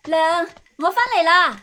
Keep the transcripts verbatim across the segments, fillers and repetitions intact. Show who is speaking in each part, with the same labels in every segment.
Speaker 1: 娘，我翻嚟啦！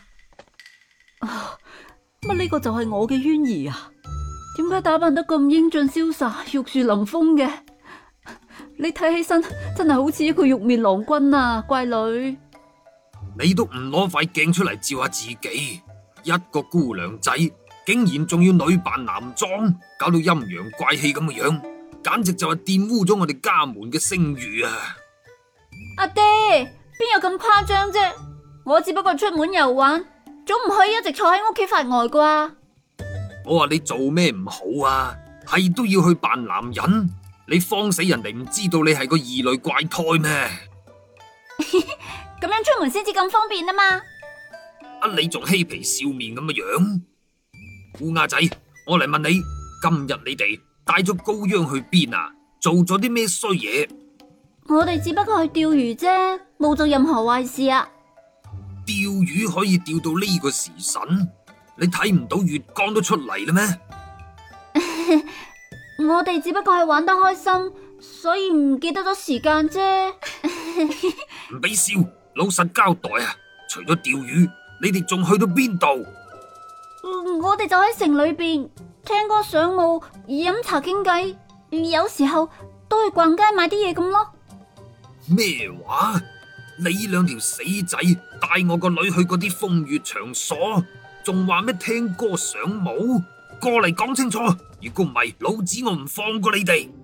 Speaker 2: 乜呢個就係我嘅淵兒啊？點解打扮得咁英俊瀟灑、玉樹臨風嘅？你睇起身真係好似一個玉面郎君啊，乖女！
Speaker 3: 你都唔攞塊鏡出嚟照下自己，一個姑娘仔竟然仲要女扮男裝，搞到陰陽怪氣咁嘅樣，簡直就係玷污咗我哋家門嘅聲譽啊！
Speaker 1: 阿爹，邊有咁誇張啫？我只不過出門遊玩，總唔可以一直坐喺屋企發呆啩？
Speaker 3: 我話你做咩唔好啊？係都要去扮男人，你慌死人哋唔知道你係個異類怪胎咩？
Speaker 1: 咁樣出門先至咁方便啊嘛！
Speaker 3: 啊，你仲嬉皮笑面咁嘅樣？烏鴉仔，我嚟問你，今日你哋帶咗高央去邊啊？做咗啲咩衰嘢？
Speaker 1: 我哋只不過去釣魚啫，冇做任何壞事啊！
Speaker 3: 釣魚可以釣到呢個時辰？你睇唔到月光都出嚟啦咩？
Speaker 1: 我哋只不過係玩得開心，所以唔記得咗時間啫。
Speaker 3: 唔俾笑，老實交代啊！除咗釣魚，你哋仲去到邊度？
Speaker 1: 我哋就喺城裏邊聽歌賞舞、飲茶傾偈，有時候都去逛街買啲嘢咁咯。
Speaker 3: 咩話？你兩條死仔帶我個女去嗰啲風月場所，仲話咩聽歌賞舞？過嚟講清楚，如果唔係，老子我唔放過你哋！